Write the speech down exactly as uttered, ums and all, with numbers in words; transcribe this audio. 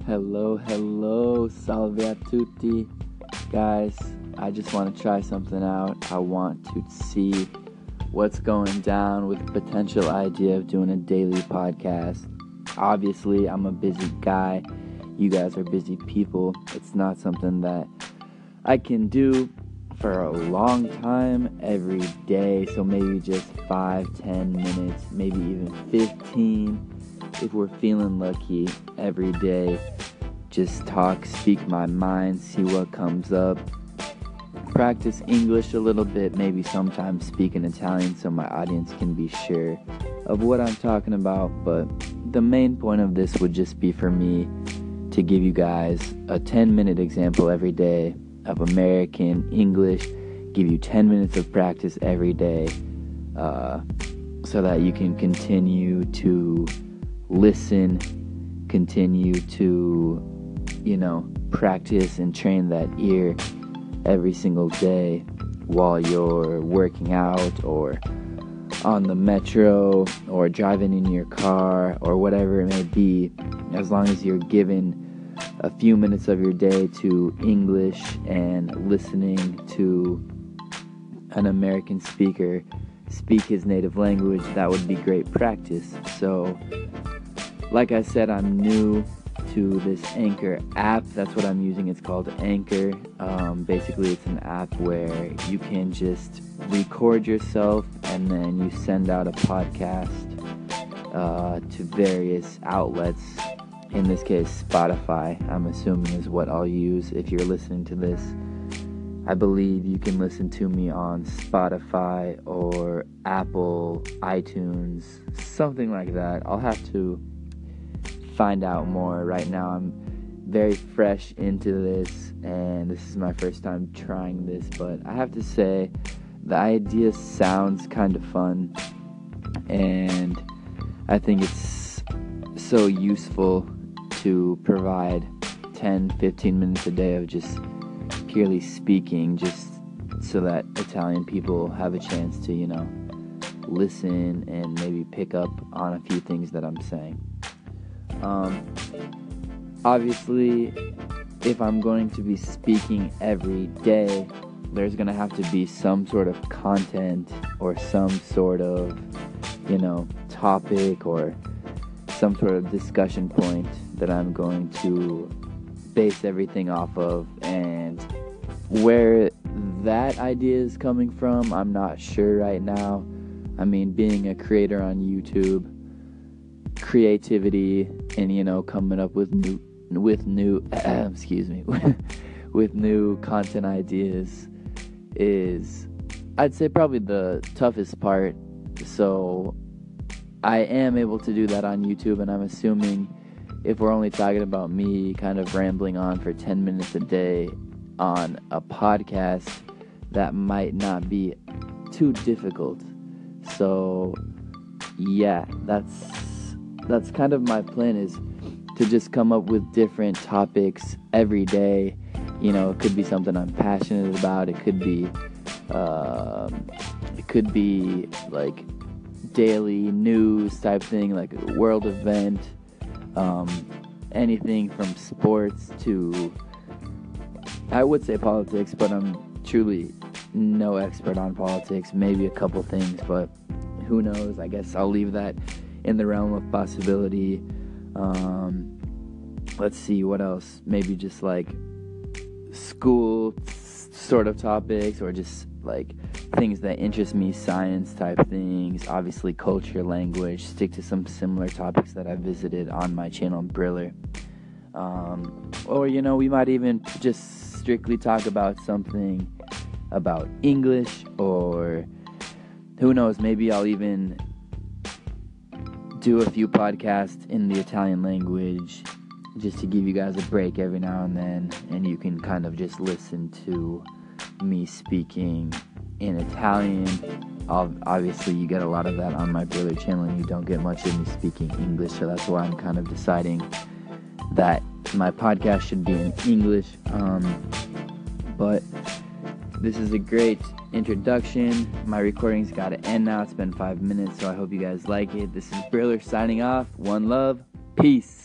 Hello, hello, salve a tutti. Guys, I just want to try something out. I want to see what's going down with the potential idea of doing a daily podcast. Obviously, I'm a busy guy. You guys are busy people. It's not something that I can do for a long time every day. So maybe just five, ten minutes, maybe even fifteen. If we're feeling lucky every day, just talk, speak my mind, see what comes up. Practice English a little bit, maybe sometimes speak in Italian so my audience can be sure of what I'm talking about. But the main point of this would just be for me to give you guys a ten minute example every day of American English, give you ten minutes of practice every day uh, so that you can continue to listen, continue to, you know, practice and train that ear every single day while you're working out or on the metro or driving in your car or whatever it may be. As long as you're given a few minutes of your day to English and listening to an American speaker speak his native language, that would be great practice. So like I said, I'm new to this Anchor app. That's what I'm using. It's called Anchor. Um, basically, it's an app where you can just record yourself and then you send out a podcast uh, to various outlets. In this case, Spotify, I'm assuming, is what I'll use if you're listening to this. I believe you can listen to me on Spotify or Apple, iTunes, something like that. I'll have to find out more. Right now I'm very fresh into this and this is my first time trying this, but I have to say the idea sounds kind of fun and I think it's so useful to provide ten to fifteen minutes a day of just purely speaking, just so that Italian people have a chance to, you know, listen and maybe pick up on a few things that I'm saying. Um, obviously, if I'm going to be speaking every day, there's going to have to be some sort of content or some sort of, you know, topic or some sort of discussion point that I'm going to base everything off of. And where that idea is coming from, I'm not sure right now. I mean, being a creator on YouTube, creativity and, you know, coming up with new with new uh, excuse me with new content ideas is, I'd say, probably the toughest part. So I am able to do that on YouTube, and I'm assuming if we're only talking about me kind of rambling on for ten minutes a day on a podcast, that might not be too difficult. So yeah, that's That's kind of my plan, is to just come up with different topics every day. You know, it could be something I'm passionate about. It could be, um, it could be like daily news type thing, like a world event. Um, anything from sports to, I would say politics, but I'm truly no expert on politics. Maybe a couple things, but who knows? I guess I'll leave that in the realm of possibility. Um, let's see, what else? Maybe just like school sort of topics, or just like things that interest me, science type things. Obviously culture, language, stick to some similar topics that I visited on my channel, Briller. Um, or, you know, we might even just strictly talk about something about English, or who knows, maybe I'll even do a few podcasts in the Italian language just to give you guys a break every now and then, and you can kind of just listen to me speaking in Italian. Obviously you get a lot of that on my Briller channel, and you don't get much of me speaking English, so that's why I'm kind of deciding that my podcast should be in English. Um, but this is a great introduction. My recording's got to end now. It's been five minutes, so I hope you guys like it. This is Briller signing off. One love. Peace.